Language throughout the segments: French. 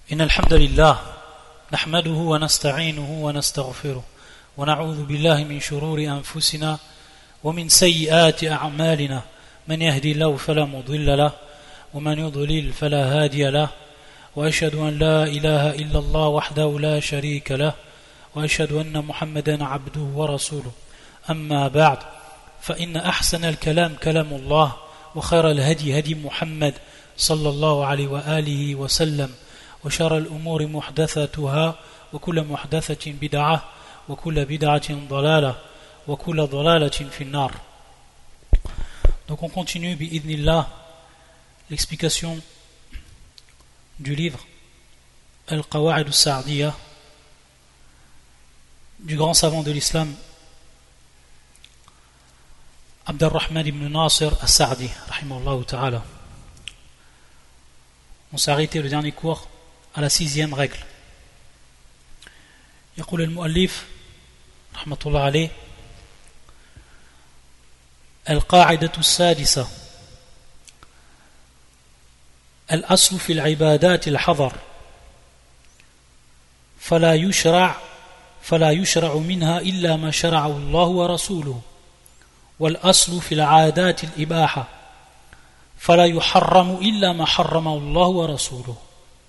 إن الحمد لله نحمده ونستعينه ونستغفره ونعوذ بالله من شرور أنفسنا ومن سيئات أعمالنا من يهدي الله فلا مضل له ومن يضلل فلا هادي له وأشهد أن لا إله إلا الله وحده لا شريك له وأشهد أن محمدا عبده ورسوله أما بعد فإن أحسن الكلام كلام الله وخير الهدي هدي محمد صلى الله عليه وآله وسلم وشر الأمور محدثاتها وكل محدثة بدعة وكل بدعة ضلالة وكل ضلالة في النار. Donc on continue bi'idhnillah l'explication du livre Al-Qawa'id al-Sa'diyya du grand savant de l'islam Abdurrahman ibn Nasir al-Sa'di rahimahullah ta'ala. On s'est arrêté le dernier cours à la 6e règle. يقول المؤلف رحمة الله عليه القاعدة السادسة الأصل في العبادات الحظر فلا يشرع منها إلا ما شرعه الله ورسوله والأصل في العادات الإباحة فلا يحرم إلا ما حرمه الله ورسوله.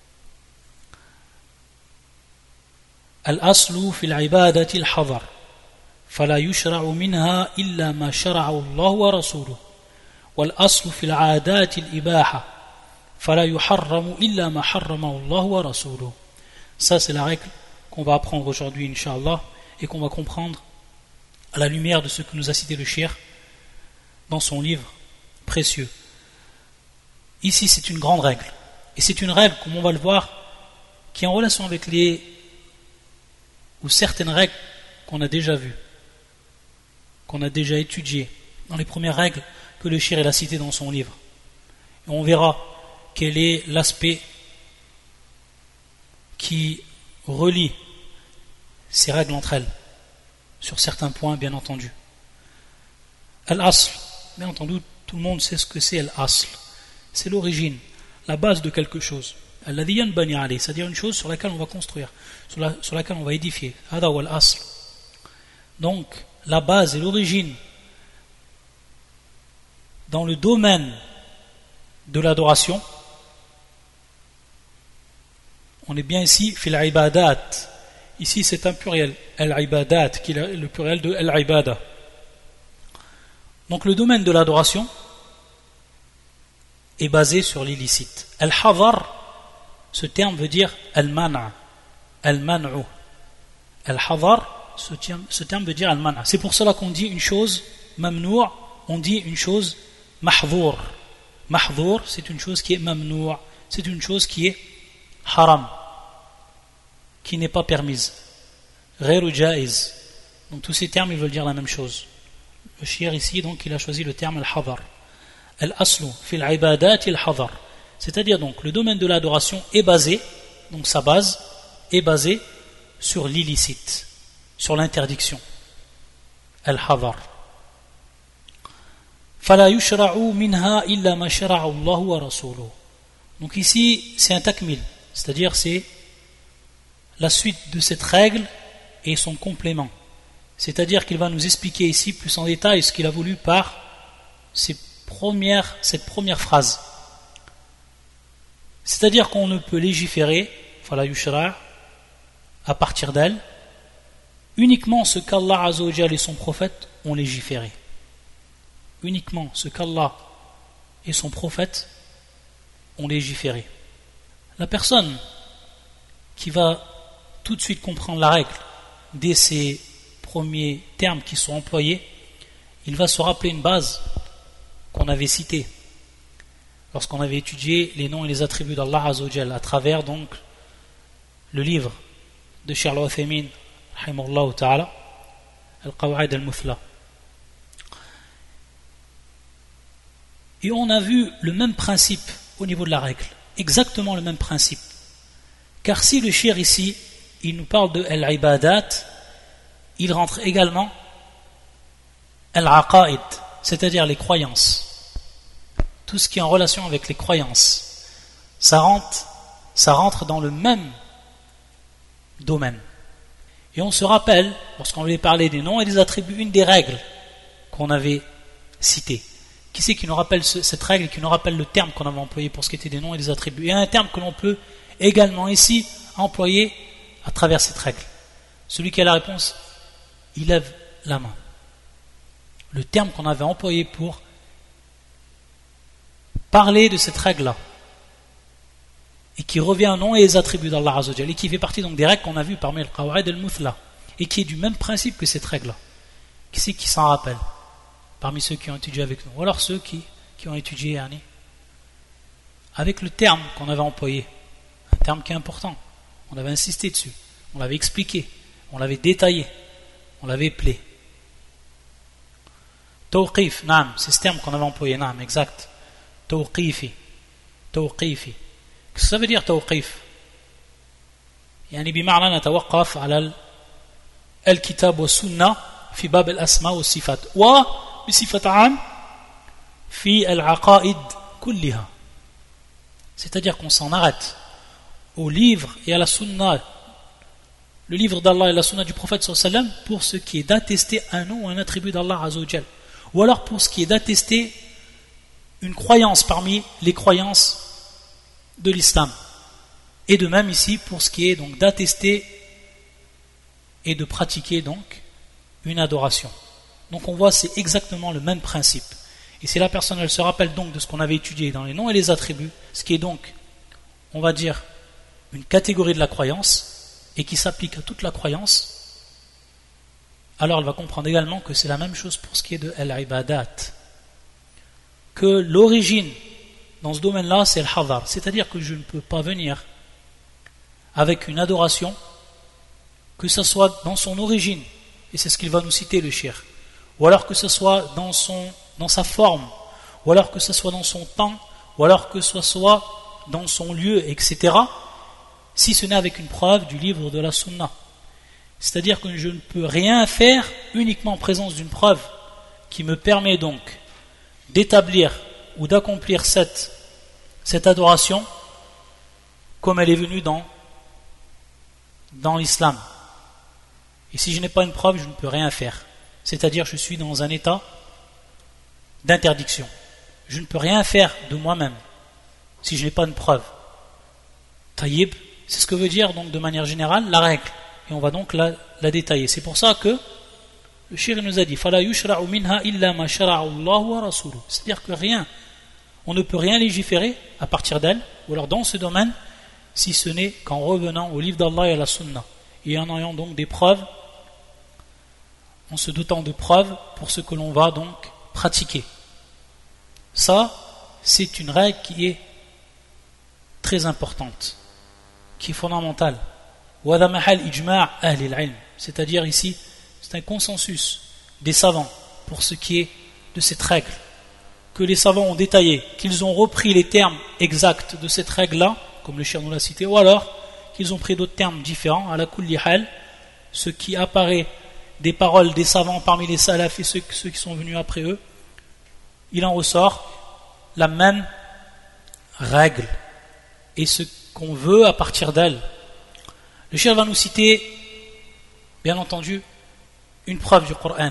الأصل في العبادة الحظر فلا يشرع منها إلا ما شرعه الله ورسوله والأصل في العادات الإباحة فلا يحرم إلا ما حرمه الله ورسوله. Ça c'est la règle qu'on va apprendre aujourd'hui Inch'Allah et qu'on va comprendre à la lumière de ce que nous a cité le cheikh dans son livre précieux. Ici c'est une grande règle et c'est une règle, comme on va le voir, qui est en relation avec certaines règles qu'on a déjà vues, qu'on a déjà étudiées dans les premières règles que le cheikh a citées dans son livre. Et on verra quel est l'aspect qui relie ces règles entre elles, sur certains points bien entendu. Al-Asl, bien entendu, tout le monde sait ce que c'est Al-Asl. C'est l'origine, la base de quelque chose. Alladhi yanbani alayh, c'est-à-dire une chose sur laquelle on va construire, sur laquelle on va édifier. Hada wa al-asl. Donc, la base et l'origine dans le domaine de l'adoration, on est bien ici, fil ibadat. Ici, c'est un pluriel, al-ibadat, qui est le pluriel de al-ibada. Donc, le domaine de l'adoration est basé sur l'illicite. Al-hadar, ce terme veut dire al-mana', al-man'u. Al-hadar, ce terme veut dire al-mana'. C'est pour cela qu'on dit une chose mamnou', on dit une chose mahdhour. Mahdhour, c'est une chose qui est mamnou', c'est une chose qui est haram, qui n'est pas permise. Ghayru jaiz. Donc tous ces termes ils veulent dire la même chose. Le cheikh ici donc il a choisi le terme al-hadar. Al-aslu fil ibadat al-hadar. C'est-à-dire donc le domaine de l'adoration est basé, donc sa base est basée sur l'illicite, sur l'interdiction. Al-hadar. Fala yushra'u minha illa ma shara'a Allah wa rasuluhu. Donc ici c'est un takmil, c'est-à-dire c'est la suite de cette règle et son complément. C'est-à-dire qu'il va nous expliquer ici plus en détail ce qu'il a voulu par cette première phrase. C'est-à-dire qu'on ne peut légiférer, fala yushra', à partir d'elle, uniquement ce qu'Allah Azza wa Jalla et son prophète ont légiféré. Uniquement ce qu'Allah et son prophète ont légiféré. La personne qui va tout de suite comprendre la règle dès ces premiers termes qui sont employés, il va se rappeler une base qu'on avait citée lorsqu'on avait étudié les noms et les attributs d'Allah Azza wa Jalla à travers donc le livre de Cheikh Al-Uthaymin rahimahullah ta'ala Al-Qawa'id al-Muthla. Et on a vu le même principe au niveau de la règle, exactement le même principe. Car si le cheikh ici il nous parle de al-ibadat, il rentre également al-aqaid, c'est-à-dire les croyances. Tout ce qui est en relation avec les croyances, ça rentre ça rentre dans le même domaine. Et on se rappelle, lorsqu'on voulait parler des noms et des attributs, une des règles qu'on avait citées. Qui c'est qui nous rappelle cette règle et qui nous rappelle le terme qu'on avait employé pour ce qui était des noms et des attributs? Il y a un terme que l'on peut également ici employer à travers cette règle. Celui qui a la réponse, il lève la main. Le terme qu'on avait employé pour parler de cette règle-là, et qui revient au nom et les attributs d'Allah Azza wa Jalla, et qui fait partie donc des règles qu'on a vues parmi le Qawa'id al-Muthla, et qui est du même principe que cette règle-là. Qui c'est qui s'en rappelle parmi ceux qui ont étudié avec nous, ou alors ceux qui ont étudié avec le terme qu'on avait employé, un terme qui est important, on avait insisté dessus, on l'avait expliqué, on l'avait détaillé, on l'avait appelé. Tawqif, naam, c'est ce terme qu'on avait employé, naam, exact. Tawqifi. Qu'est-ce que ça veut dire tawqif? يعني بمعنى نتوقف على الكتاب والسنة في باب الأسماء والصفات وبصفة عام في العقائد كلها. C'est-à-dire qu'on s'en arrête au livre et à la sunna, le livre d'Allah et la sunna du prophète sallallahu alayhi wa sallam, pour ce qui est d'attester un nom ou un attribut d'Allah azza wa jal, ou alors pour ce qui est d'attester une croyance parmi les croyances de l'islam, et de même ici pour ce qui est donc d'attester et de pratiquer donc une adoration. Donc on voit c'est exactement le même principe, et si la personne elle se rappelle donc de ce qu'on avait étudié dans les noms et les attributs, ce qui est donc on va dire une catégorie de la croyance et qui s'applique à toute la croyance, alors elle va comprendre également que c'est la même chose pour ce qui est de al-ibadat, que l'origine dans ce domaine-là c'est le hadar, c'est-à-dire que je ne peux pas venir avec une adoration, que ce soit dans son origine, et c'est ce qu'il va nous citer le shir, ou alors que ce soit dans sa forme, ou alors que ce soit dans son temps, ou alors que ce soit dans son lieu, etc., si ce n'est avec une preuve du livre de la sunna. C'est-à-dire que je ne peux rien faire uniquement en présence d'une preuve qui me permet donc d'établir ou d'accomplir cette adoration comme elle est venue dans l'islam. Et si je n'ai pas une preuve, je ne peux rien faire. C'est-à-dire je suis dans un état d'interdiction. Je ne peux rien faire de moi-même si je n'ai pas une preuve. Taïb, c'est ce que veut dire donc de manière générale la règle. Et on va donc la détailler. C'est pour ça que le shir nous a dit فَلَا يُشْرَعُ مِنْهَا إِلَّا مَا شَرَعُ اللَّهُ وَرَسُولُهُ. C'est-à-dire que on ne peut rien légiférer à partir d'elle, ou alors dans ce domaine, si ce n'est qu'en revenant au livre d'Allah et à la sunna, et en ayant donc des preuves, en se dotant de preuves pour ce que l'on va donc pratiquer. Ça, c'est une règle qui est très importante, qui est fondamentale. C'est-à-dire ici, c'est un consensus des savants pour ce qui est de cette règle, que les savants ont détaillé, qu'ils ont repris les termes exacts de cette règle-là, comme le shir nous l'a cité, ou alors qu'ils ont pris d'autres termes différents, à la kulli hal, ce qui apparaît des paroles des savants parmi les salafs et ceux qui sont venus après eux, il en ressort la même règle et ce qu'on veut à partir d'elle. Le shir va nous citer, bien entendu, une preuve du Coran.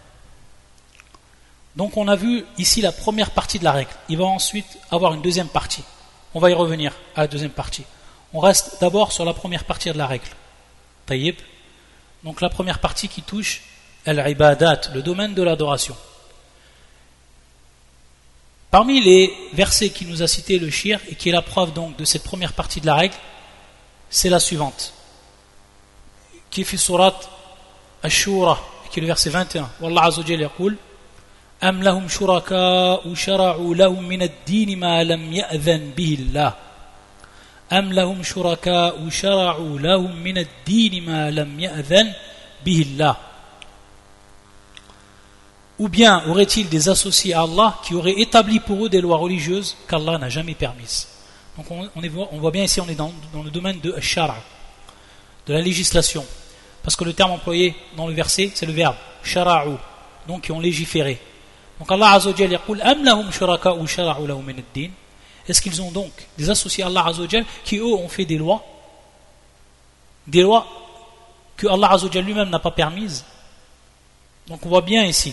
Donc on a vu ici la première partie de la règle. Il va ensuite avoir une deuxième partie. On va y revenir à la deuxième partie. On reste d'abord sur la première partie de la règle. Taïb. Donc la première partie qui touche al-ibadat, le domaine de l'adoration. Parmi les versets qui nous a cité le shir et qui est la preuve donc de cette première partie de la règle, c'est la suivante, qui est fi surat Ash-Shura, qui est le verset 21. Wallah Azza wa Jalla yaqul Am lahum shuraka'u shara'u lahum min ad-din ma lam ya'dhan bihi Allah. Am lahum shuraka'u shara'u lahum min ad-din ma lam ya'dhan bihi Allah. Ou bien aurait-il des associés à Allah qui auraient établi pour eux des lois religieuses qu'Allah n'a jamais permises. Donc on voit bien ici, on est dans le domaine de shara, de la législation, parce que le terme employé dans le verset c'est le verbe shara'u, donc qui ont légiféré. Donc Allah Azza wa Jalla yaqul am lahum shuraka'u shara'u lahum min ad-din. Est-ce qu'ils ont donc des associés à Allah Azzawajal qui eux ont fait des lois que Allah Azzawajal lui-même n'a pas permises? Donc on voit bien ici,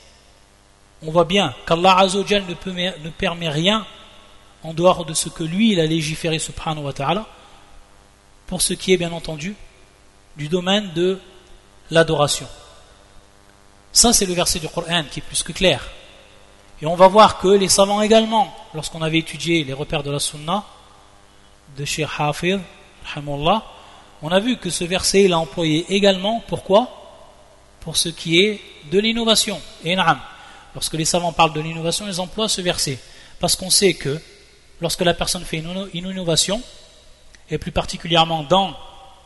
on voit bien qu'Allah Azzawajal ne permet rien en dehors de ce que lui il a légiféré subhanahu wa ta'ala, pour ce qui est bien entendu du domaine de l'adoration. Ça c'est le verset du Coran qui est plus que clair. Et on va voir que les savants également, lorsqu'on avait étudié les repères de la Sunna de Cheikh Hafid, on a vu que ce verset il a employé également, pourquoi? Pour ce qui est de l'innovation. Et na'am, lorsque les savants parlent de l'innovation, ils emploient ce verset. Parce qu'on sait que lorsque la personne fait une innovation, et plus particulièrement dans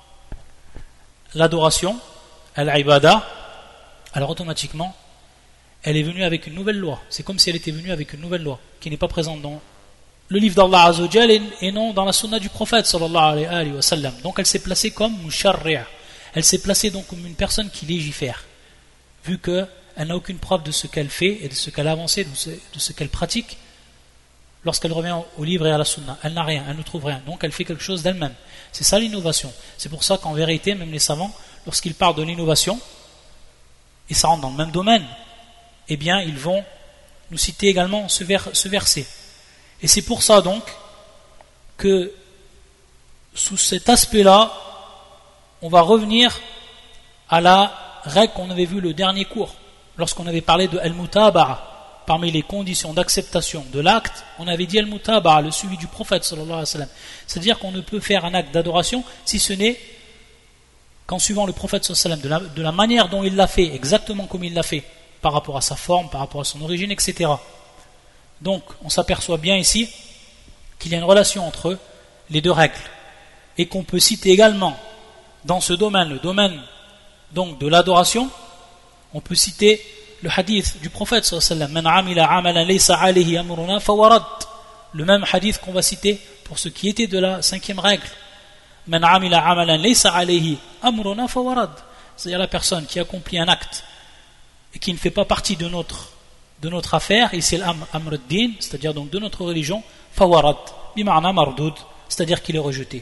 l'adoration, al-ibada, alors automatiquement, elle est venue avec une nouvelle loi. C'est comme si elle était venue avec une nouvelle loi, qui n'est pas présente dans le livre d'Allah Azzawajal et non dans la sunna du prophète sallallahu alayhi wa sallam. Donc elle s'est placée comme musharri'. Elle s'est placée donc comme une personne qui légifère, vu qu'elle n'a aucune preuve de ce qu'elle fait et de ce qu'elle a avancé, de ce qu'elle pratique. Lorsqu'elle revient au livre et à la sunna, elle n'a rien, elle ne trouve rien, donc elle fait quelque chose d'elle-même. C'est ça l'innovation. C'est pour ça qu'en vérité, même les savants, lorsqu'ils parlent de l'innovation, et ça rentre dans le même domaine, eh bien ils vont nous citer également ce verset. Et c'est pour ça donc que sous cet aspect-là, on va revenir à la règle qu'on avait vue le dernier cours, lorsqu'on avait parlé de al-mutaba'a. Parmi les conditions d'acceptation de l'acte, on avait dit al-mutaba'a, le suivi du prophète sallallahu alayhi wa sallam. C'est-à-dire qu'on ne peut faire un acte d'adoration si ce n'est qu'en suivant le prophète sallallahu alayhi wa sallam, de la manière dont il l'a fait, exactement comme il l'a fait, par rapport à sa forme, par rapport à son origine, etc. Donc, on s'aperçoit bien ici qu'il y a une relation entre les deux règles, et qu'on peut citer également dans ce domaine, le domaine donc de l'adoration, on peut citer le hadith du prophète sallallahu alayhi wa sallam, man amila amalan laysa alayhi amruna fawarad, le même hadith qu'on va citer pour ce qui était de la 5e règle, man amila amalan laysa alayhi amruna fawarad, c'est-à-dire la personne qui accomplit un acte et qui ne fait pas partie de notre affaire, et c'est l'amr ad-din, c'est-à-dire donc de notre religion, fawarad, bima'na mardoud, c'est-à-dire qu'il est rejeté.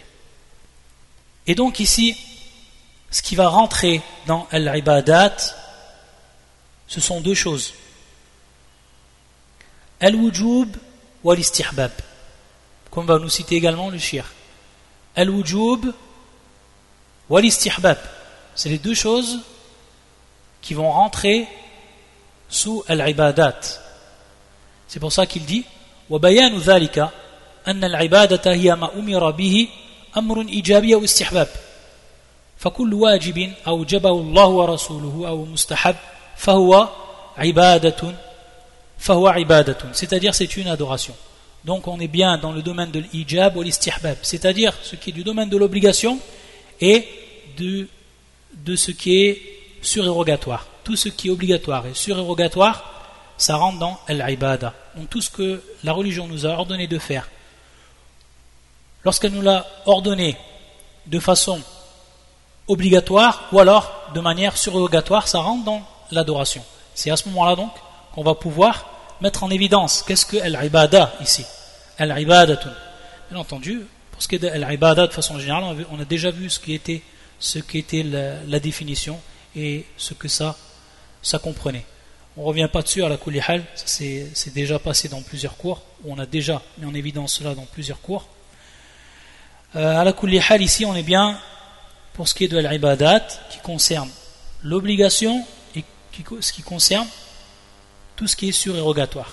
Et donc ici, ce qui va rentrer dans al-ibadat, ce sont deux choses. Al-wujub wa l'istihbab. Comme va nous citer également le shir. Al-wujub wa l'istihbab. C'est les deux choses qui vont rentrer sous al-ibadat. C'est pour ça qu'il dit wa bayanu dhalika anna al-ibadata hiya ma umira bihi amrun ijabi ou istihbab. فكل واجب أوجبه الله ورسوله أو مستحب فهو عبادة c'est-à-dire c'est une adoration. Donc on est bien dans le domaine de l'ijab ou l'istihbab, c'est-à-dire ce qui est du domaine de l'obligation et de ce qui est surérogatoire. Tout ce qui est obligatoire et surérogatoire, ça rentre dans l'ibada. Donc tout ce que la religion nous a ordonné de faire, lorsqu'elle nous l'a ordonné de façon obligatoire ou alors de manière surérogatoire, ça rentre dans l'adoration. C'est à ce moment-là donc qu'on va pouvoir mettre en évidence qu'est-ce que al-ibada ici. Al-ibadatun. Bien entendu, pour ce qui est de al-ibada de façon générale, on a déjà vu ce qui était la définition et ce que ça comprenait. On ne revient pas dessus à la kulli hal, c'est déjà passé dans plusieurs cours, où on a déjà mis en évidence cela dans plusieurs cours. À la kulli hal ici, on est bien pour ce qui est de l'ibadat, qui concerne l'obligation et ce qui concerne tout ce qui est surérogatoire.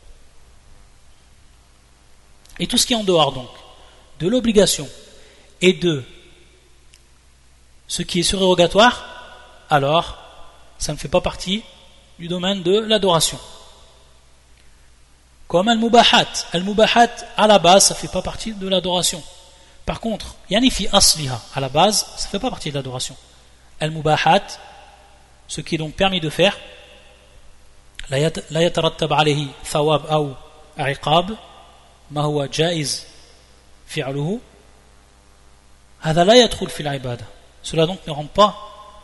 Et tout ce qui est en dehors donc de l'obligation et de ce qui est surérogatoire, alors ça ne fait pas partie du domaine de l'adoration. Comme al-mubahat. Al-mubahat, à la base, ça ne fait pas partie de l'adoration. Par contre, yanifi asliha, à la base, ça ne fait pas partie de l'adoration. Al-mubahat, ce qui est donc permis de faire, la yatarattab alayhi thawab ou iqab, ma huwa jaiz fi'luhu, hada la yadkhul fil ibada. Cela donc ne rentre pas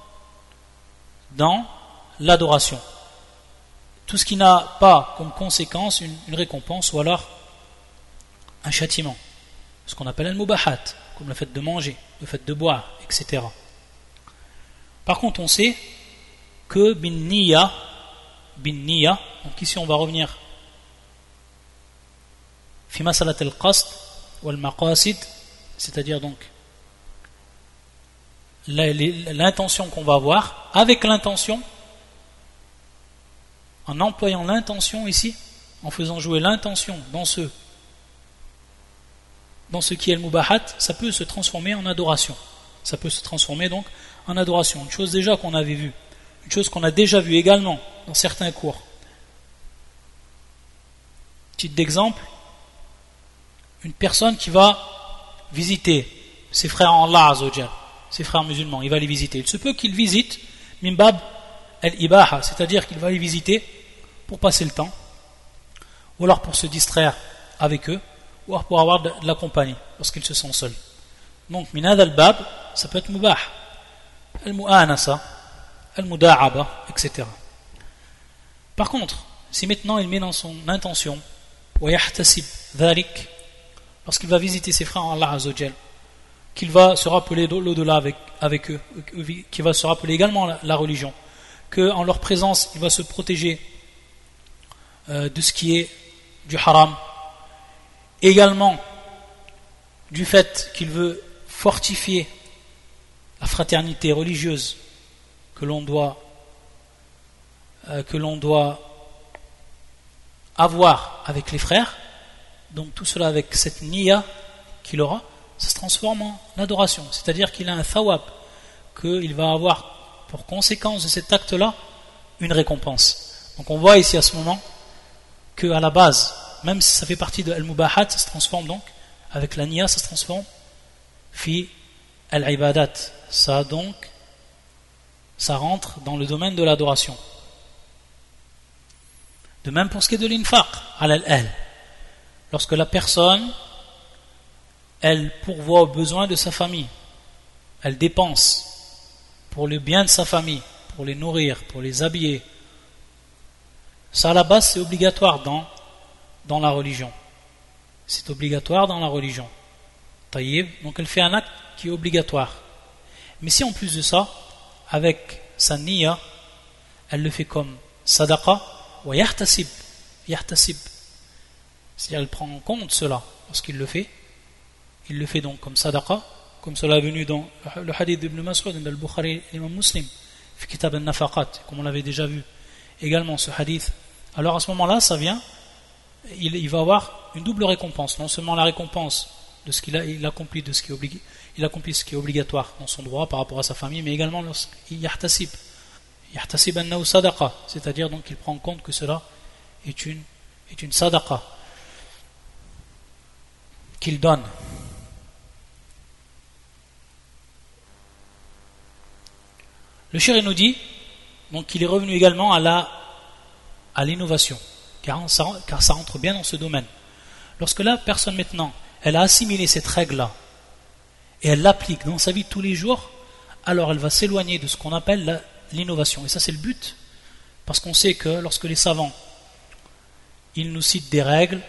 dans l'adoration. Tout ce qui n'a pas comme conséquence une récompense ou alors un châtiment, ce qu'on appelle al-mubahat, comme le fait de manger, le fait de boire, etc. Par contre, on sait que bin niya, donc ici on va revenir fi masalat al-qasd wal maqasid, c'est-à-dire donc l'intention qu'on va avoir, avec l'intention, en employant l'intention ici, en faisant jouer l'intention dans ce qui est le mubahat, ça peut se transformer en adoration. Ça peut se transformer donc en adoration. Une chose déjà qu'on avait vue, une chose qu'on a déjà vue également dans certains cours. Titre d'exemple, une personne qui va visiter ses frères en Allah Azzawajal, ses frères musulmans, il va les visiter. Il se peut qu'il visite mimbab al-ibaha, c'est-à-dire qu'il va les visiter pour passer le temps, ou alors pour se distraire avec eux, ou alors pour avoir de la compagnie lorsqu'il se sent seul. Donc minad al-bab, ça peut être mubah, al-mu'anasa, al-muda'aba, etc. Par contre, si maintenant il met dans son intention wa yahtasib dhalik, lorsqu'il va visiter ses frères en Allah Azzawajal, qu'il va se rappeler l'au-delà avec eux, qu'il va se rappeler également la religion, qu'en leur présence il va se protéger de ce qui est du haram, également du fait qu'il veut fortifier la fraternité religieuse que l'on doit avoir avec les frères. Donc tout cela avec cette niya qu'il aura, ça se transforme en adoration, c'est-à-dire qu'il a un thawab, qu'il va avoir pour conséquence de cet acte-là une récompense. Donc on voit ici à ce moment qu'à la base, même si ça fait partie de al-mubahat, ça se transforme donc, avec la niya, ça se transforme fi al-ibadat. Ça rentre dans le domaine de l'adoration. De même pour ce qui est de l'infaq, al-al. Lorsque la personne, elle pourvoit aux besoins de sa famille, elle dépense pour le bien de sa famille, pour les nourrir, pour les habiller, ça à la base c'est obligatoire dans la religion. C'est obligatoire dans la religion. Taïb, donc elle fait un acte qui est obligatoire. Mais si en plus de ça, avec sa niya, elle le fait comme sadaqa wa yahtasib, c'est-à-dire elle prend en compte cela lorsqu'il le fait. Il le fait donc comme sadaqa, comme cela est venu dans le hadith d'Ibn Mas'ud, dans le Bukhari et l'imam Muslim, fi kitab al-nafaqat, comme on l'avait déjà vu également ce hadith. Alors à ce moment-là, ça vient, il va avoir une double récompense, non seulement la récompense de ce il accomplit de ce qui est il accomplit ce qui est obligatoire dans son droit par rapport à sa famille, mais également lorsqu'il yahtasib annahu sadaqa, c'est-à-dire donc qu'il prend en compte que cela est une sadaqa qu'il donne. Le shir nous dit donc qu'il est revenu également à l'innovation, car ça rentre bien dans ce domaine. Lorsque la personne maintenant, elle a assimilé cette règle-là, et elle l'applique dans sa vie de tous les jours, alors elle va s'éloigner de ce qu'on appelle l'innovation. Et ça c'est le but, parce qu'on sait que lorsque les savants, ils nous citent des règles,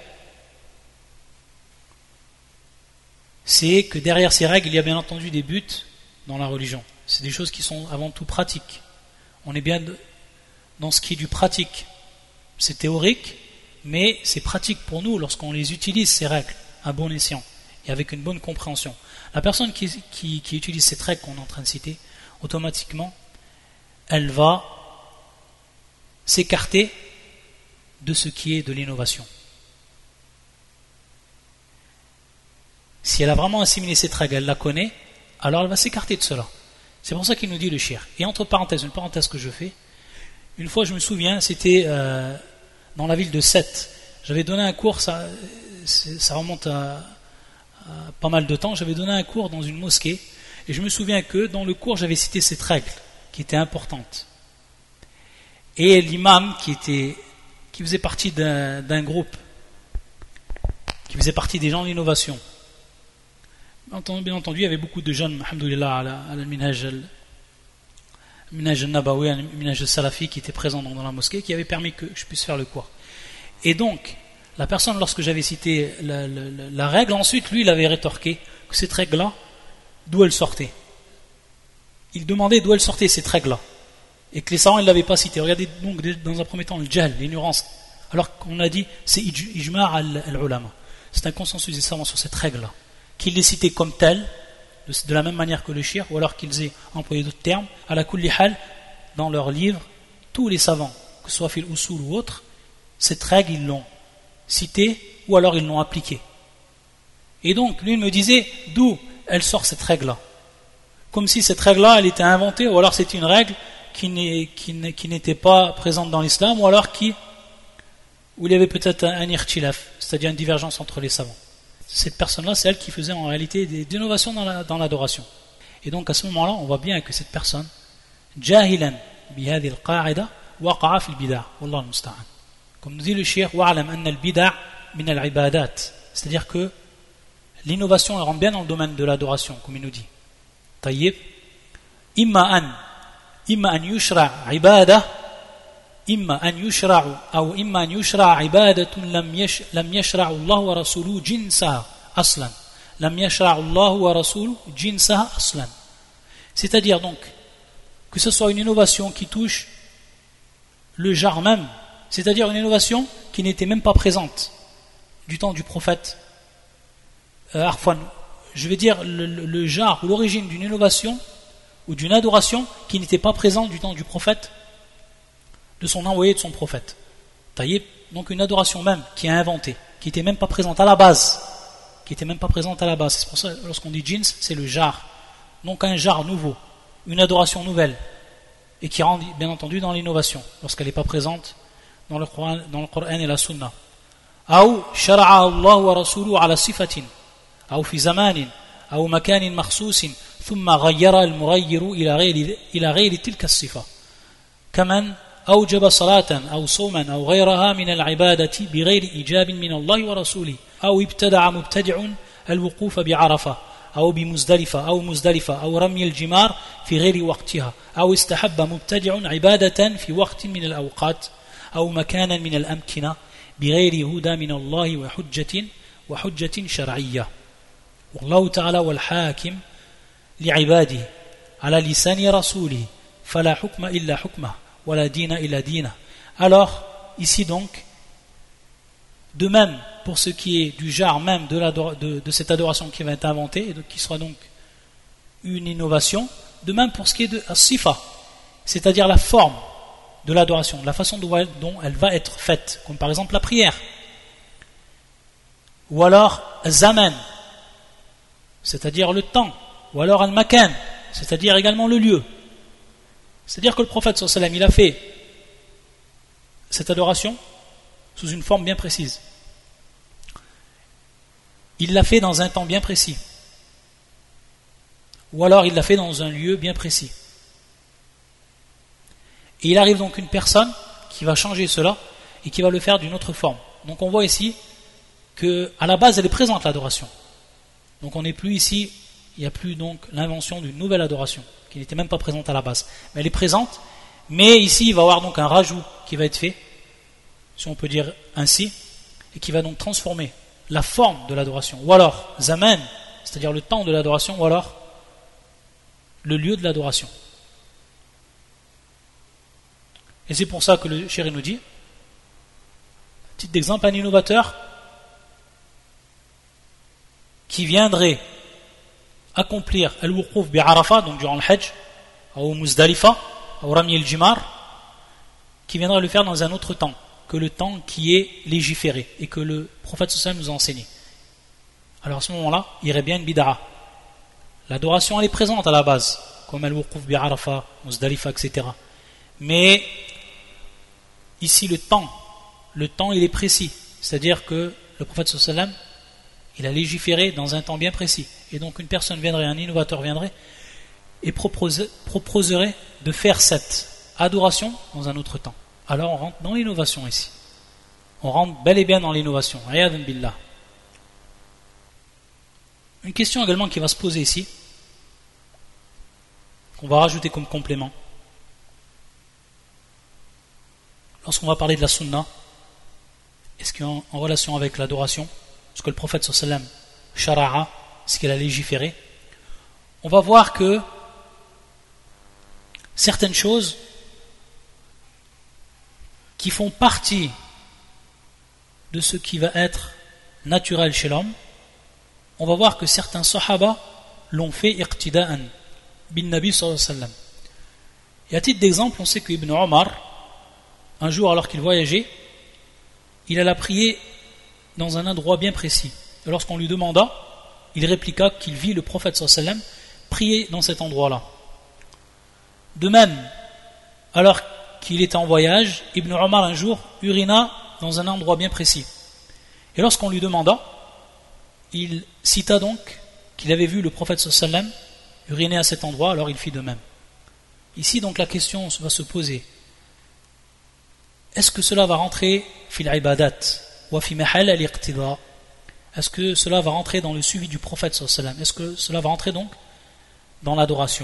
c'est que derrière ces règles, il y a bien entendu des buts dans la religion. C'est des choses qui sont avant tout pratiques. On est bien dans ce qui est du pratique. C'est théorique, mais c'est pratique pour nous lorsqu'on les utilise, ces règles, à bon escient, et avec une bonne compréhension. La personne qui utilise cette règle qu'on est en train de citer, automatiquement, elle va s'écarter de ce qui est de l'innovation. Si elle a vraiment assimilé cette règle, elle la connaît, alors elle va s'écarter de cela. C'est pour ça qu'il nous dit le shir. Et entre parenthèses, une parenthèse que je fais, une fois je me souviens, c'était dans la ville de Sète. J'avais donné un cours, ça remonte à pas mal de temps, j'avais donné un cours dans une mosquée, et je me souviens que dans le cours j'avais cité cette règle, qui était importante. Et l'imam qui faisait partie d'un groupe, qui faisait partie des gens d'innovation, bien entendu, il y avait beaucoup de jeunes, alhamdoulilah, à la minhaj al-nabawi, al-minhaj al-salafi qui étaient présents dans la mosquée, qui avaient permis que je puisse faire le cours. Et donc, La personne, lorsque j'avais cité la règle, ensuite, lui, il avait rétorqué que cette règle-là, d'où elle sortait. Il demandait d'où elle sortait, cette règle-là. Et que les savants ne l'avaient pas cité. Regardez donc dans un premier temps le jahl, l'ignorance. Alors qu'on a dit, c'est ijma' al-ulama. C'est un consensus des savants sur cette règle-là. Qu'ils l'aient citée comme telle, de la même manière que le shir, ou alors qu'ils aient employé d'autres termes, à la kulli hal, dans leurs livres, tous les savants, que ce soit fil usul ou autre, cette règle, ils l'ont citée, ou alors ils l'ont appliquée. Et donc, lui, il me disait, d'où elle sort cette règle-là? Comme si cette règle-là, elle était inventée, ou alors c'était une règle qui n'était pas présente dans l'islam, ou alors où il y avait peut-être un irtilaf, c'est-à-dire une divergence entre les savants. Cette personne-là, c'est elle qui faisait en réalité des innovations dans l'adoration. Et donc à ce moment-là, on voit bien que cette personne, jahilan bihadi al-qa'ida, waqa'a fil bid'a, wallahu musta'an. Comme nous dit le cheikh, wa'alam anna al-bid'a min al-ibadat, c'est-à-dire que l'innovation elle rentre bien dans le domaine de l'adoration, comme il nous dit. Tayyib, imma an yushra' ibadah, imma an yushra' ou imma an yushra' ibadatun lam yashra'u Allah wa rasuluhu jinsaha aslan. Lam yashra'u Allah wa rasuluhu jinsaha aslan. C'est-à-dire donc que ce soit une innovation qui touche le genre même, c'est-à-dire une innovation qui n'était même pas présente du temps du prophète. Je vais dire le genre ou l'origine d'une innovation ou d'une adoration qui n'était pas présente du temps du prophète, de son envoyé, de son prophète. Taïb, donc une adoration même qui est inventée, qui n'était même pas présente à la base. C'est pour ça, lorsqu'on dit jins, c'est le jar. Donc un jar nouveau, une adoration nouvelle, et qui rentre bien entendu dans l'innovation, lorsqu'elle n'est pas présente dans le Coran et la Sunna. Ou shara'a Allah wa rasuluhu ala sifatin, ou fi zamanin, ou makanin makhsusin, thumma ghayyara al-mughayyir ila ghayri tilka as-sifa. Kaman أوجب صلاة أو صوما أو غيرها من العبادة بغير إيجاب من الله ورسوله أو ابتدع مبتدع الوقوف بعرفة أو بمزدلفة أو رمي الجمار في غير وقتها أو استحب مبتدع عبادة في وقت من الأوقات أو مكانا من الأمكنة بغير هدى من الله وحجة شرعية والله تعالى والحاكم لعباده على لسان رسوله فلا حكم إلا حكمه. Alors, ici donc, de même pour ce qui est du genre même de cette adoration qui va être inventée, et qui sera donc une innovation, de même pour ce qui est de sifa, c'est-à-dire la forme de l'adoration, la façon dont elle va être faite, comme par exemple la prière, ou alors zaman, c'est-à-dire le temps, ou alors al-makan, c'est-à-dire également le lieu. C'est-à-dire que le prophète sallallahu alayhi wa sallam, il a fait cette adoration sous une forme bien précise. Il l'a fait dans un temps bien précis. Ou alors il l'a fait dans un lieu bien précis. Et il arrive donc une personne qui va changer cela et qui va le faire d'une autre forme. Donc on voit ici qu'à la base elle est présente l'adoration. Donc on n'est plus ici, il n'y a plus donc l'invention d'une nouvelle adoration qui n'était même pas présente à la base. Mais elle est présente, mais ici il va y avoir donc un rajout qui va être fait, si on peut dire ainsi, et qui va donc transformer la forme de l'adoration, ou alors zaman, c'est-à-dire le temps de l'adoration, ou alors le lieu de l'adoration. Et c'est pour ça que le chéri nous dit, titre d'exemple, un innovateur qui viendrait accomplir al-wuquf bi Arafat, donc durant le Hajj, ou Muzdalifa, ou Rami al-Jimar, qui viendra le faire dans un autre temps que le temps qui est légiféré et que le prophète sallallahu alayhi wa sallam nous a enseigné. Alors à ce moment-là, il y aurait bien une bid'a. L'adoration elle est présente à la base, comme al-wuquf bi Arafat, Muzdalifa, etc. Mais ici le temps il est précis, c'est-à-dire que le prophète sallallahu alayhi wa sallam il a légiféré dans un temps bien précis. Et donc une personne viendrait, un innovateur viendrait et proposerait de faire cette adoration dans un autre temps. Alors on rentre dans l'innovation ici. On rentre bel et bien dans l'innovation. Ayadun billah. Une question également qui va se poser ici, qu'on va rajouter comme complément. Lorsqu'on va parler de la sunna est-ce qu'il est en relation avec l'adoration, ce que le prophète sallam shara'a, ce qu'il a légiféré, on va voir que certaines choses qui font partie de ce qui va être naturel chez l'homme, on va voir que certains sahaba l'ont fait iqtida'an bin Nabi sallallahu alayhi wa sallam. Et à titre d'exemple, on sait que Ibn Omar, un jour alors qu'il voyageait, il alla prier dans un endroit bien précis. Et lorsqu'on lui demanda, il répliqua qu'il vit le prophète sallallahu alayhi wa sallam prier dans cet endroit-là. De même, alors qu'il était en voyage, Ibn Omar un jour urina dans un endroit bien précis. Et lorsqu'on lui demanda, il cita donc qu'il avait vu le prophète sallallahu alayhi wa sallam uriner à cet endroit, alors il fit de même. Ici donc la question va se poser, est-ce que cela va rentrer fil ibadat wa fi mahal al-iqtida? Est-ce que cela va rentrer dans le suivi du prophète sallallahu alayhi wa sallam? Est-ce que cela va rentrer donc dans l'adoration?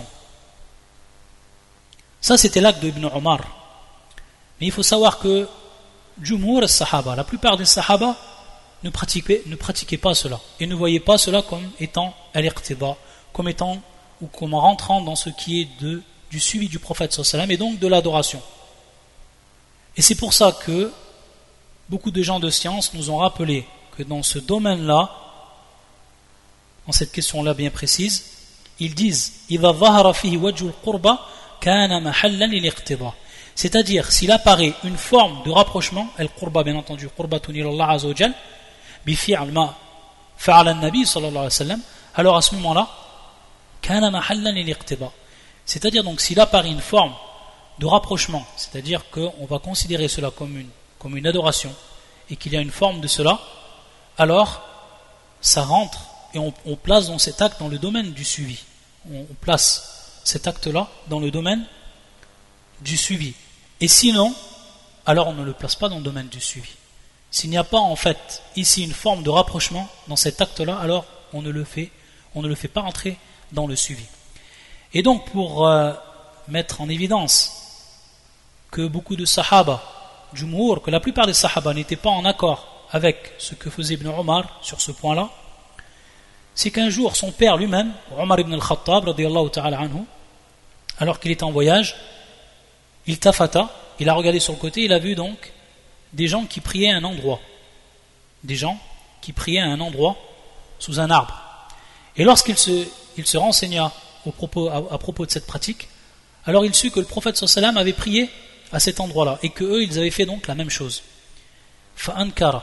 Ça c'était l'acte d'Ibn Omar. Mais il faut savoir que Jumhur al-Sahaba, la plupart des Sahaba ne pratiquaient pas cela et ne voyaient pas cela comme étant al-iqtida, comme étant ou comme rentrant dans ce qui est du suivi du prophète sallallahu alayhi wa sallam et donc de l'adoration. Et c'est pour ça que beaucoup de gens de science nous ont rappelé que dans ce domaine-là, dans cette question-là bien précise, ils disent إِذَا ظَهَرَ فِيهِ وَجْهُ الْقُرْبَ كَانَ مَحَلًّا لِلْإِقْتِضَاءِ. C'est-à-dire, s'il apparaît une forme de rapprochement, al-qurba bien entendu, qurbatun ila Allah azza wa jal, bi fi'l ma fa'ala an-nabi sallallahu alayhi wa sallam, alors à ce moment-là, kana mahallan lil-iqtiba. C'est-à-dire donc s'il apparaît une forme de rapprochement, c'est-à-dire qu'on va considérer cela comme une adoration et qu'il y a une forme de cela, alors ça rentre et on place dans cet acte dans le domaine du suivi. On place cet acte-là dans le domaine du suivi. Et sinon, alors on ne le place pas dans le domaine du suivi. S'il n'y a pas en fait ici une forme de rapprochement dans cet acte-là, alors on ne le fait pas entrer dans le suivi. Et donc pour mettre en évidence que beaucoup de sahaba, jumhur, que la plupart des sahaba n'étaient pas en accord avec ce que faisait Ibn Omar sur ce point-là, c'est qu'un jour son père lui-même, Omar ibn al-Khattab radiyallahu ta'ala anhu, alors qu'il était en voyage, il tafata, il a regardé sur le côté, il a vu donc des gens qui priaient à un endroit. Des gens qui priaient à un endroit sous un arbre. Et lorsqu'il se renseigna à propos de cette pratique, alors il sut que le prophète sallallahu alayhi wa sallam avait prié à cet endroit-là et qu'eux, ils avaient fait donc la même chose. Fa'ankara.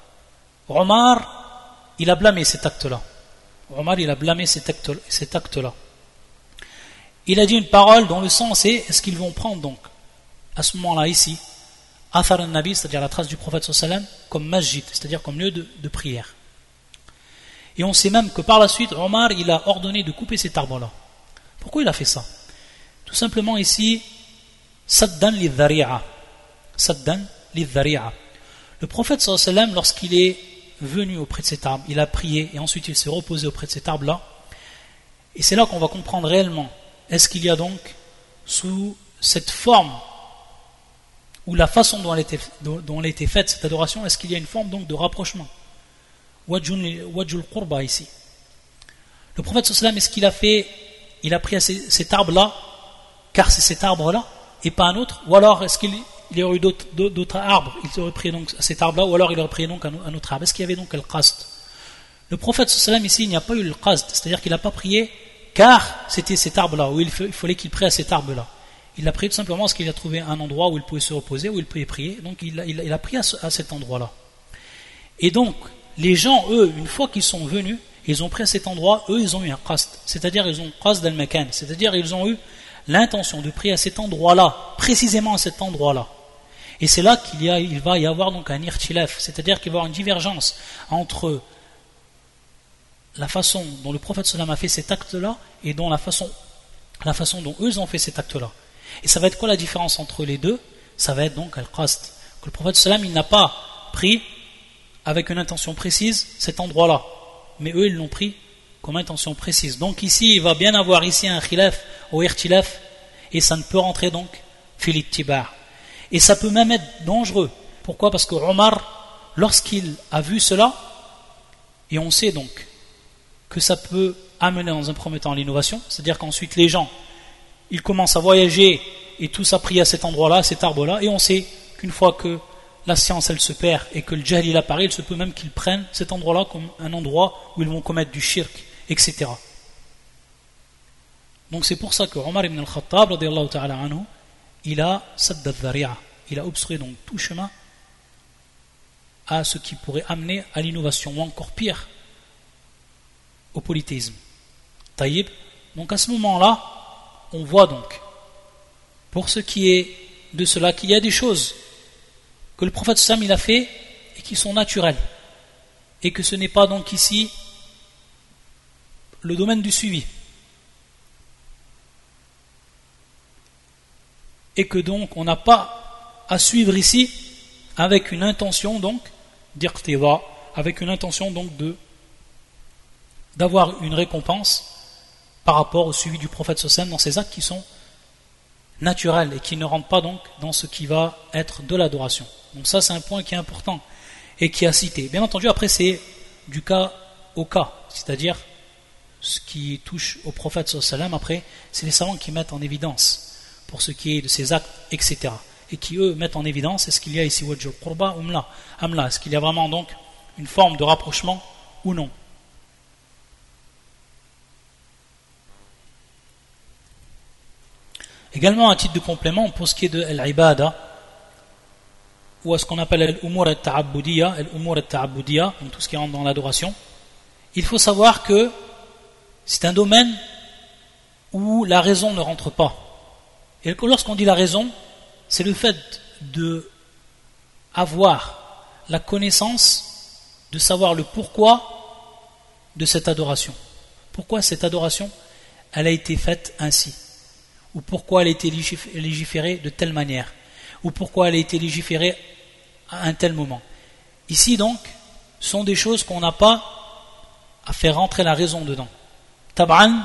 Omar, il a blâmé cet acte-là. Omar, il a blâmé cet acte-là. Il a dit une parole dont le sens est qu'ils vont prendre donc, à ce moment-là ici, Athar al-Nabi, c'est-à-dire la trace du prophète sallallahu alayhi wa sallam, comme masjid, c'est-à-dire comme lieu de prière. Et on sait même que par la suite, Omar, il a ordonné de couper cet arbre-là. Pourquoi il a fait ça? Tout simplement ici, Saddan lidhari'a. Saddan lidhari'a. Le prophète sallallahu alayhi wa sallam, lorsqu'il est venu auprès de cet arbre, il a prié et ensuite il s'est reposé auprès de cet arbre-là. Et c'est là qu'on va comprendre réellement, est-ce qu'il y a donc, sous cette forme, ou la façon dont elle était faite, cette adoration, est-ce qu'il y a une forme donc de rapprochement? Wajjul qurba ici. Le prophète sallallahu alayhi wa sallam, est-ce qu'il a fait, il a pris à cet arbre-là, car c'est cet arbre-là, et pas un autre, ou alors est-ce qu'il y aurait eu d'autres arbres, il aurait pris donc à cet arbre-là, ou alors il aurait pris donc un autre arbre? Est-ce qu'il y avait donc le qasd? Le prophète sallallahu alayhi wa sallam ici, il n'y a pas eu le qasd, c'est-à-dire qu'il n'a pas prié car c'était cet arbre-là, où il fallait qu'il prie à cet arbre-là. Il a prié tout simplement parce qu'il a trouvé un endroit où il pouvait se reposer, où il pouvait prier, donc il a prié à cet endroit-là. Et donc, les gens, eux, une fois qu'ils sont venus, ils ont pris à cet endroit, eux, ils ont eu un qasd, c'est-à-dire ils ont qasd al-makan, c'est-à-dire ils ont eu l'intention de prier à cet endroit-là, précisément à cet endroit-là. Et c'est là qu'il va y avoir donc un irtilaf, c'est-à-dire qu'il va y avoir une divergence entre la façon dont le prophète sallam a fait cet acte-là et la façon dont eux ont fait cet acte-là. Et ça va être quoi la différence entre les deux? Ça va être donc al-qasd, que le prophète sallam il n'a pas pris avec une intention précise cet endroit-là, mais eux ils l'ont pris comme intention précise. Donc ici il va bien avoir ici un khilaf ou irtilaf, et ça ne peut rentrer donc fil ittiba'. Et ça peut même être dangereux. Pourquoi? Parce que Omar, lorsqu'il a vu cela, et on sait donc que ça peut amener dans un premier temps à l'innovation, c'est-à-dire qu'ensuite les gens, ils commencent à voyager et tous à prier à cet endroit-là, à cet arbre-là, et on sait qu'une fois que la science elle se perd et que le jahl il apparaît, il se peut même qu'ils prennent cet endroit-là comme un endroit où ils vont commettre du shirk, etc. Donc c'est pour ça que Omar ibn al-Khattab radiyallahu ta'ala anhu, il a sadda dhari'a, il a obstrué donc tout chemin à ce qui pourrait amener à l'innovation, ou encore pire, au polythéisme. Taïb. Donc à ce moment-là, on voit donc, pour ce qui est de cela, qu'il y a des choses que le prophète Sam il a fait et qui sont naturelles, et que ce n'est pas donc ici le domaine du suivi, et que donc on n'a pas à suivre ici avec une intention donc d'irtiva, avec une intention donc d'avoir une récompense par rapport au suivi du prophète Sam dans ces actes qui sont naturels et qui ne rentrent pas donc dans ce qui va être de l'adoration. Donc ça c'est un point qui est important et qui est à citer. Bien entendu après c'est du cas au cas, c'est-à-dire ce qui touche au prophète sallam, après c'est les savants qui mettent en évidence pour ce qui est de ses actes, etc. Et qui eux mettent en évidence est-ce qu'il y a ici wajhul qurba ou amla, est-ce qu'il y a vraiment donc une forme de rapprochement ou non. Également, à titre de complément, pour ce qui est de l'ibada, ou à ce qu'on appelle l'umur al-ta'abbudiyya, donc tout ce qui rentre dans l'adoration, il faut savoir que c'est un domaine où la raison ne rentre pas. Et lorsqu'on dit la raison, c'est le fait de avoir la connaissance, de savoir le pourquoi de cette adoration. Pourquoi cette adoration, elle a été faite ainsi, ou pourquoi elle a été légiférée de telle manière, ou pourquoi elle a été légiférée à un tel moment. Ici donc, sont des choses qu'on n'a pas à faire rentrer la raison dedans. Tab'an,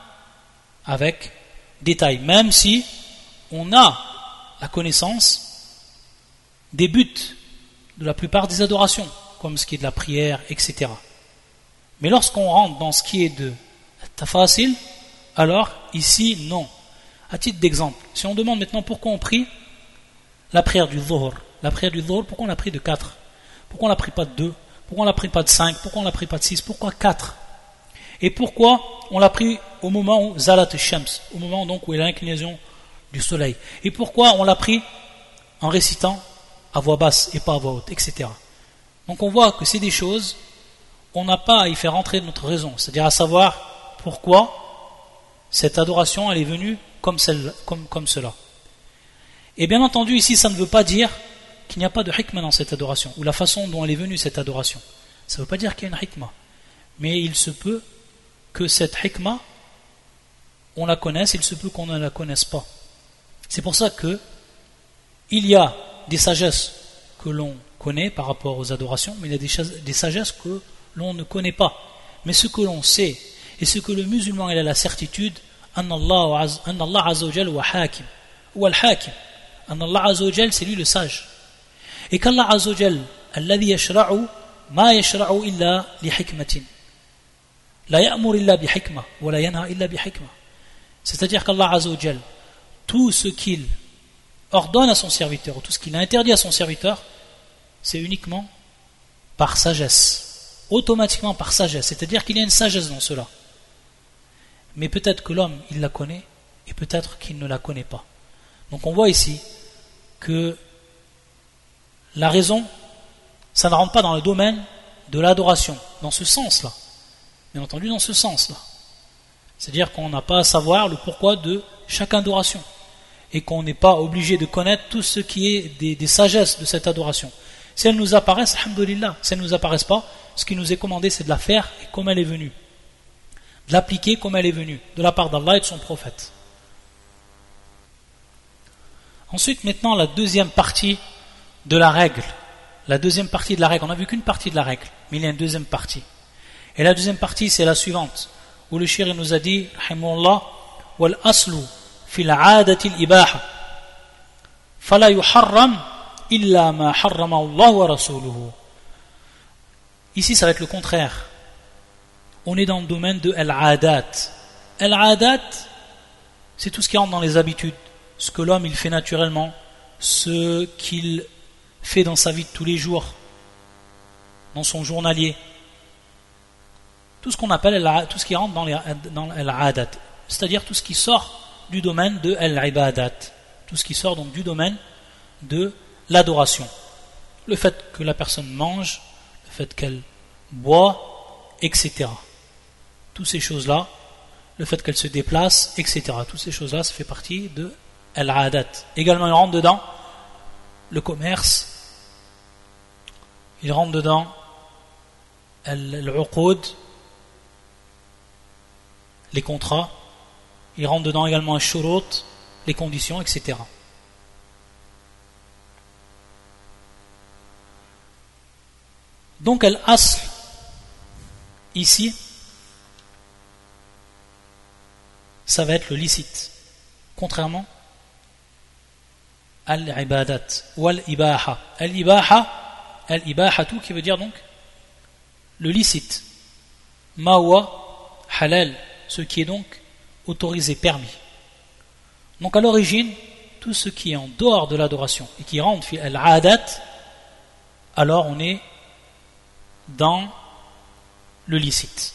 avec détail, même si on a la connaissance des buts de la plupart des adorations, comme ce qui est de la prière, etc. Mais lorsqu'on rentre dans ce qui est de tafasil, alors ici non. À titre d'exemple, si on demande maintenant pourquoi on prie la prière du dhuhr, pourquoi on l'a pris de 4? Pourquoi on l'a pris pas de 2? Pourquoi on l'a pris pas de 5? Pourquoi on l'a pris pas de 6? Pourquoi 4? Et pourquoi on l'a pris au moment où Zalat al-Shams, au moment donc où il y a l'inclinaison du soleil? Et pourquoi on l'a pris en récitant à voix basse et pas à voix haute, etc. Donc on voit que c'est des choses, on n'a pas à y faire entrer notre raison, c'est-à-dire à savoir pourquoi cette adoration elle est venue comme cela. Et bien entendu ici ça ne veut pas dire qu'il n'y a pas de hikmah dans cette adoration, ou la façon dont elle est venue cette adoration. Ça ne veut pas dire qu'il y a une hikmah, mais il se peut que cette hikmah on la connaisse, il se peut qu'on ne la connaisse pas. C'est pour ça que il y a des sagesses que l'on connaît par rapport aux adorations, mais il y a des sagesses que l'on ne connaît pas. Mais ce que l'on sait, et ce que le musulman il a la certitude, Anna Allah Azza wa Jal wa hakim, ou al-hakim, Anna Allah Azza wa Jal c'est lui le sage. Et qu'Allah Azza wa Jal, alladhi yashra'u ma yashra'u illa li hikmatin. La ya'mur illa bi hikmah, wa la yanha illa bi hikmah. C'est-à-dire qu'Allah Azza wa Jal, tout ce qu'il ordonne à son serviteur, ou tout ce qu'il a interdit à son serviteur, c'est uniquement par sagesse, automatiquement par sagesse, c'est-à-dire qu'il y a une sagesse dans cela. Mais peut-être que l'homme, il la connaît, et peut-être qu'il ne la connaît pas. Donc on voit ici que la raison, ça ne rentre pas dans le domaine de l'adoration, dans ce sens-là. Bien entendu, dans ce sens-là. C'est-à-dire qu'on n'a pas à savoir le pourquoi de chaque adoration, et qu'on n'est pas obligé de connaître tout ce qui est des sagesses de cette adoration. Si elles nous apparaissent, alhamdoulilah. Si elles ne nous apparaissent pas, ce qui nous est commandé, c'est de la faire et comme elle est venue. De l'appliquer comme elle est venue, de la part d'Allah et de son prophète. Ensuite, maintenant, la deuxième partie de la règle. La deuxième partie de la règle. On n'a vu qu'une partie de la règle, mais il y a une deuxième partie. Et la deuxième partie, c'est la suivante, où le shir nous a dit, rahimahullah, wal aslu fil aadati al-ibaha, fala yuharram illa ma harrama Allah wa rasuluhu. Ici, ça va être le contraire. On est dans le domaine de al-adat. Al-adat, c'est tout ce qui rentre dans les habitudes, ce que l'homme il fait naturellement, ce qu'il fait dans sa vie de tous les jours, dans son journalier. Tout ce qu'on appelle tout ce qui rentre dans al-adat, c'est-à-dire tout ce qui sort du domaine de al-ibadat, tout ce qui sort donc du domaine de l'adoration. Le fait que la personne mange, le fait qu'elle boit, etc. Toutes ces choses-là, le fait qu'elle se déplace, etc. Toutes ces choses-là, ça fait partie de al-adat. Également, il rentre dedans le commerce, il rentre dedans al-uqud, les contrats, il rentre dedans également al-shurut, les conditions, etc. Donc al-asl, ici, ça va être le licite, contrairement à al-ibadat ou al-ibaha. Al-ibaha, tout qui veut dire donc le licite. Mawa halal, ce qui est donc autorisé, permis. Donc à l'origine, tout ce qui est en dehors de l'adoration et qui rentre fi al-adat, alors on est dans le licite.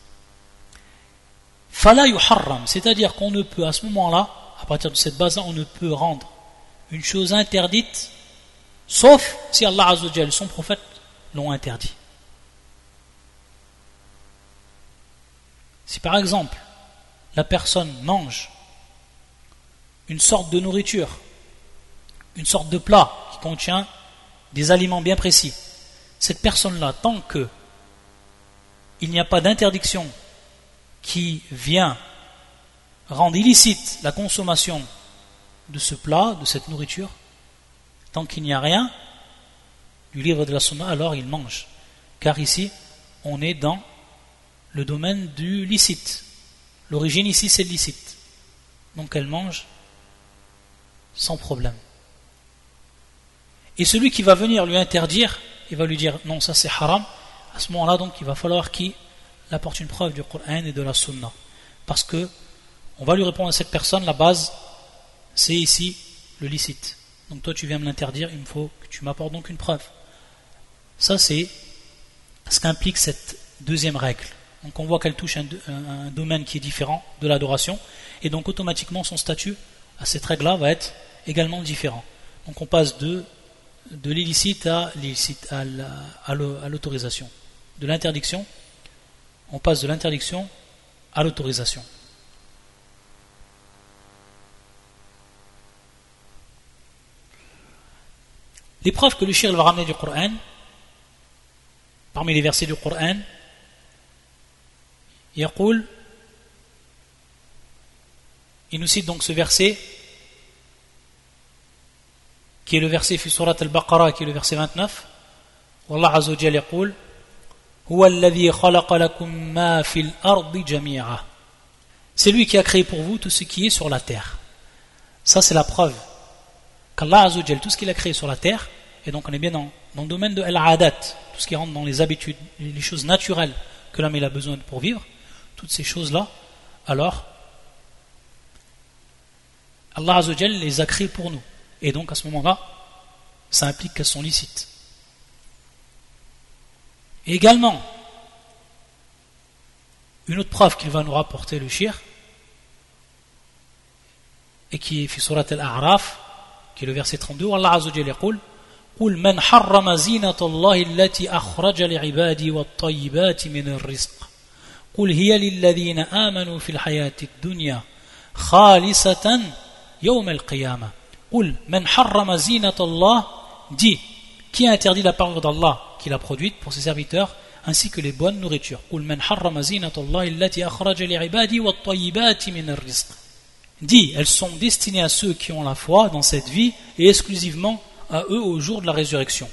Fala yuharram, c'est-à-dire qu'on ne peut à ce moment-là, à partir de cette base-là, on ne peut rendre une chose interdite, sauf si Allah Azza wa Jalla, son prophète, l'ont interdit. Si par exemple, la personne mange une sorte de nourriture, une sorte de plat qui contient des aliments bien précis, cette personne-là, tant que il n'y a pas d'interdiction qui vient rendre illicite la consommation de ce plat, de cette nourriture, tant qu'il n'y a rien du livre de la Sunna, alors il mange. Car ici, on est dans le domaine du licite. L'origine ici, c'est licite. Donc elle mange sans problème. Et celui qui va venir lui interdire, il va lui dire non, ça c'est haram. À ce moment-là, donc, il va falloir qu'il apporte une preuve du Coran et de la Sunna. Parce que on va lui répondre à cette personne, la base, c'est ici le licite. Donc toi, tu viens me l'interdire, il me faut que tu m'apportes donc une preuve. Ça, c'est ce qu'implique cette deuxième règle. Donc on voit qu'elle touche un domaine qui est différent de l'adoration, et donc automatiquement son statut à cette règle-là va être également différent. Donc on passe de l'illicite à l'autorisation. De l'interdiction, on passe de l'interdiction à l'autorisation. Les preuves que le shir va ramener du Coran, parmi les versets du Coran, il nous cite donc ce verset qui est le verset fi surat al-Baqarah, qui est le verset 29. Wallah Azza wa Jalla yaqul huwa alladhi khalaqa lakum ma fil ardi jami'a. C'est lui qui a créé pour vous tout ce qui est sur la terre. Ça c'est la preuve qu'Allah Azza wa Jalla, tout ce qu'il a créé sur la terre, et donc on est bien dans le domaine de al-adat, tout ce qui rentre dans les habitudes, les choses naturelles que l'homme a besoin pour vivre, toutes ces choses-là, alors Allah Azza wa Jalla les a créées pour nous. Et donc à ce moment-là, ça implique qu'elles sont licites. Et également, une autre preuve qu'il va nous rapporter le shir, et qui est fi surat al-A'raf, qui est le verset 32, Allah Azza wa Jalla yaqul قل من حرم زينة الله التي أخرج لعبادي والطيبات من الرزق قل هي للذين آمنوا في الحياة الدنيا خالصة يوم القيامة قل من حرم زينة الله dit qui a interdit la parure d'Allah qu'il a produite pour ses serviteurs ainsi que les bonnes nourritures قل من حرم زينة الله التي أخرج لعبادي والطيبات من الرزق dit elles sont destinées à ceux qui ont la foi dans cette vie et exclusivement à eux au jour de la résurrection.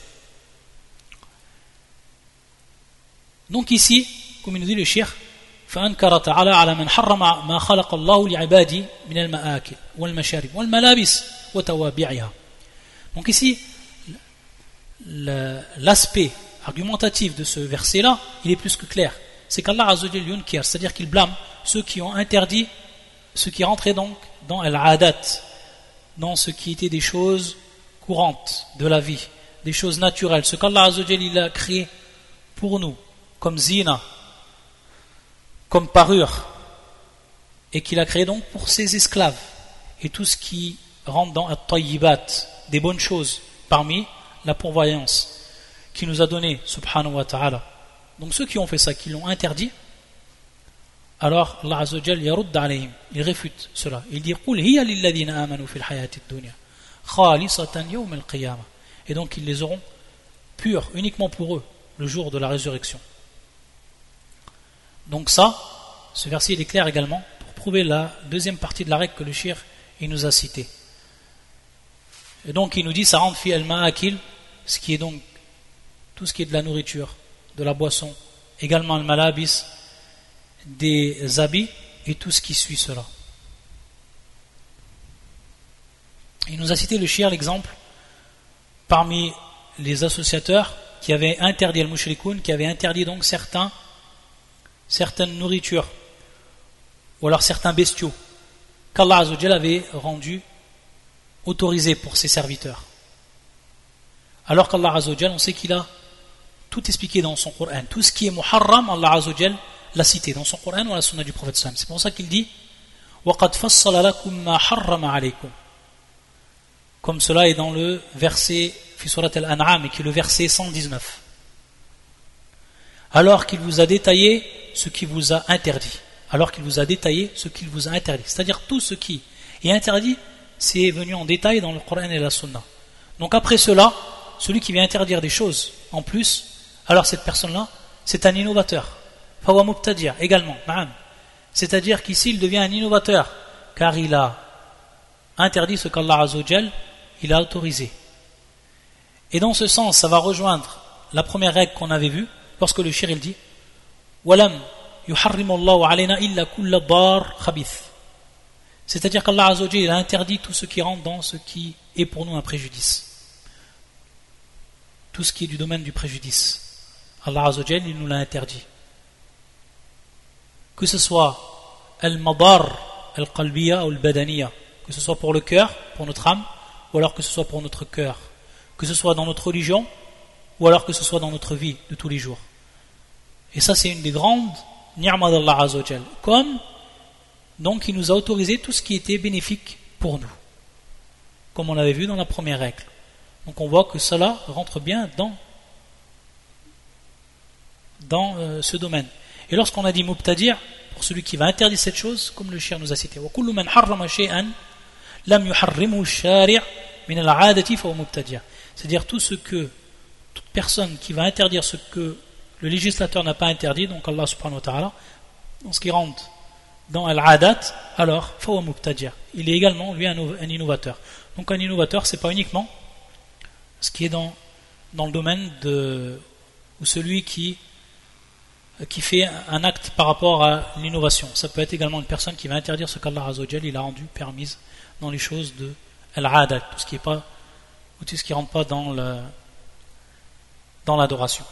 Donc ici, comme il nous dit le shir, فأنكر تعالى على من حرم ما خلق الله لعباده من المآكل والمشارب والملابس وتوابعها. Donc ici, l'aspect argumentatif de ce verset-là, il est plus que clair. C'est qu'Allah Azza wa Jal yunkir, c'est-à-dire qu'il blâme ceux qui ont interdit, ceux qui rentraient donc dans al-adat, dans ce qui était des choses courantes de la vie, des choses naturelles, ce qu'Allah Azza wa Jal il a créé pour nous, comme zina, comme parure, et qu'il a créé donc pour ses esclaves, et tout ce qui rentre dans at-tayyibat, des bonnes choses, parmi la pourvoyance qui nous a donné, subhanahu wa ta'ala. Donc ceux qui ont fait ça, qui l'ont interdit, alors Allah Azza wa Jal yarud alayhim, il réfute cela. Il dit qul hiya lilladhina amanu fil hayati ad-dunya khalisatan yawm al-qiyamah. Et donc ils les auront purs uniquement pour eux le jour de la résurrection. Donc ça, ce verset il est clair également pour prouver la deuxième partie de la règle que le shir il nous a citée. Et donc il nous dit ça rentre fi al-ma'akil, ce qui est donc tout ce qui est de la nourriture, de la boisson, également le malabis, des habits et tout ce qui suit cela. Il nous a cité le shir l'exemple parmi les associateurs qui avaient interdit al-mushrikoun, qui avaient interdit donc certaines nourritures ou alors certains bestiaux qu'Allah Azza wa Jal avait rendus autorisés pour ses serviteurs. Alors qu'Allah Azza wa Jal, on sait qu'il a tout expliqué dans son Coran. Tout ce qui est muharram, Allah Azza wa Jal l'a cité dans son Coran ou la sunna du prophète sallam. C'est pour ça qu'il dit وَقَدْ فَصَّلَ لَكُمْ مَا حَرَّمَ عَلَيْكُمْ. Comme cela est dans le verset fi surat al-An'am, et qui est le verset 119. Alors qu'il vous a détaillé ce qui vous a interdit. Alors qu'il vous a détaillé ce qu'il vous a interdit. C'est-à-dire tout ce qui est interdit, c'est venu en détail dans le Coran et la sunna. Donc après cela, celui qui vient interdire des choses en plus, alors cette personne-là, c'est un innovateur. Fawa mubtadi' également, c'est-à-dire qu'ici il devient un innovateur, car il a interdit ce qu'Allah Azza wa Jal il a autorisé. Et dans ce sens, ça va rejoindre la première règle qu'on avait vue, lorsque le shir il dit Walam yuharrimu Allahu alayna illa kulla dar khabith. C'est-à-dire qu'Allah Azza wa Jal il a interdit tout ce qui rentre dans ce qui est pour nous un préjudice. Tout ce qui est du domaine du préjudice. Allah Azza wa Jal il nous l'a interdit. Que ce soit al-madar al-qalbiya ou al-badaniya, que ce soit pour le cœur, pour notre âme, ou alors que ce soit pour notre cœur, que ce soit dans notre religion, ou alors que ce soit dans notre vie de tous les jours. Et ça c'est une des grandes ni'ma d'Allah Azza wa Jal. Comme donc il nous a autorisé tout ce qui était bénéfique pour nous, comme on l'avait vu dans la première règle. Donc on voit que cela rentre bien dans ce domaine. Et lorsqu'on a dit mubtadi', pour celui qui va interdire cette chose, comme le shir nous a cité, وَكُلُّ مَنْ حَرَّمَ شَيْئًا لَمْ يُحَرِّمُهُ الشَّارِعُ مِنَ الْعَادَةِ فَهُوَ مُبْتَدِعٌ. C'est-à-dire toute personne qui va interdire ce que le législateur n'a pas interdit, donc Allah subhanahu wa ta'ala, dans ce qui rentre dans al-adat, alors فَهُوَ مُبْتَدِعٌ. Il est également lui un innovateur. Donc un innovateur, c'est pas uniquement ce qui est dans le domaine ou celui qui fait un acte par rapport à l'innovation. Ça peut être également une personne qui va interdire ce qu'Allah Azza wa Jal il a rendu permise dans les choses de al-adat, tout ce qui ne rentre pas dans l'adoration.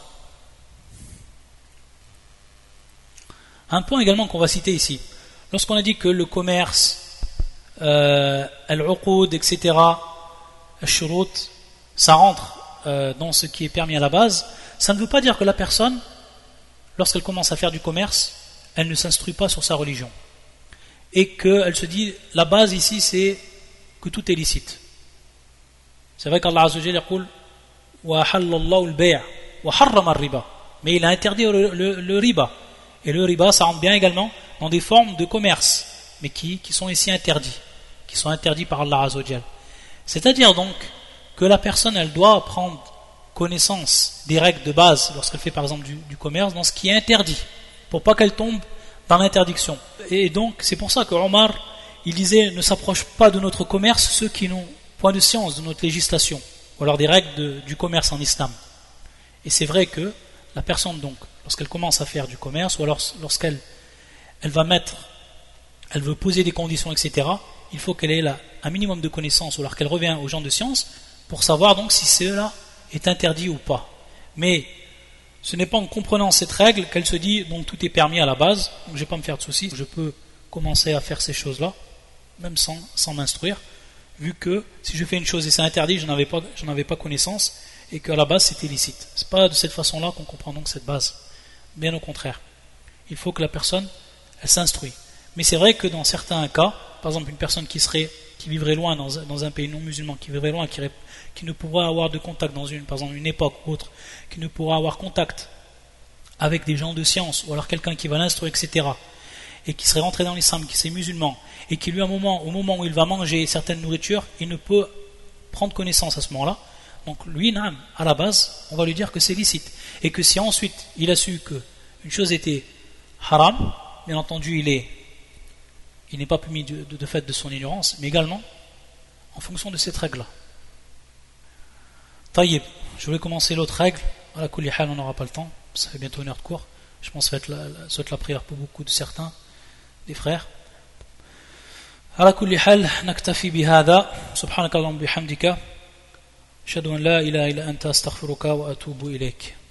Un point également qu'on va citer ici, lorsqu'on a dit que le commerce, al-uqud, etc., al-shurut, ça rentre dans ce qui est permis à la base, ça ne veut pas dire que la personne, lorsqu'elle commence à faire du commerce, elle ne s'instruit pas sur sa religion. Et qu'elle se dit, la base ici, c'est que tout est licite. C'est vrai qu'Allah Azza wa Jalla dit wa halallahu al-bay' wa harrama ar-riba. Mais il a interdit le riba. Et le riba, ça rentre bien également dans des formes de commerce, mais qui sont ici interdits, qui sont interdits par Allah Azza wa Jalla. C'est-à-dire donc que la personne, elle doit prendre connaissance des règles de base lorsqu'elle fait par exemple du commerce dans ce qui est interdit, pour pas qu'elle tombe dans l'interdiction. Et donc c'est pour ça que Omar il disait ne s'approche pas de notre commerce ceux qui n'ont point de science de notre législation ou alors des règles du commerce en islam. Et c'est vrai que la personne donc lorsqu'elle commence à faire du commerce ou alors lorsqu'elle elle veut poser des conditions, etc., il faut qu'elle ait un minimum de connaissances ou alors qu'elle revient aux gens de science pour savoir donc si cela est interdit ou pas. Mais Ce n'est pas en comprenant cette règle qu'elle se dit donc tout est permis à la base, donc je ne vais pas me faire de soucis, je peux commencer à faire ces choses-là, même sans m'instruire, vu que si je fais une chose et c'est interdit, je n'en avais pas connaissance, et qu'à la base c'était licite. Ce n'est pas de cette façon-là qu'on comprend donc cette base. Bien au contraire. Il faut que la personne, elle s'instruit. Mais c'est vrai que dans certains cas, par exemple une personne qui vivrait loin dans un pays non musulman, qui vivrait loin, qui ne pourra avoir de contact par exemple une époque ou autre, qui ne pourra avoir contact avec des gens de science, ou alors quelqu'un qui va l'instruire, etc., et qui serait rentré dans l'islam, qui serait musulman, et qui lui au moment où il va manger certaines nourritures, il ne peut prendre connaissance à ce moment-là, donc lui, à la base, on va lui dire que c'est licite, et que si ensuite il a su qu'une chose était haram, bien entendu il n'est pas puni de fait de son ignorance, mais également en fonction de cette règle-là. Taïeb, je voulais commencer l'autre règle, à la kulli hal on n'aura pas le temps, ça fait bientôt une heure de cours, je pense que ça va être la prière pour beaucoup de certains des frères. على كل حال نكتفي بهذا سبحانك اللهم وبحمدك أشهد أن لا إله إلا أنت أستغفرك وأتوب إليك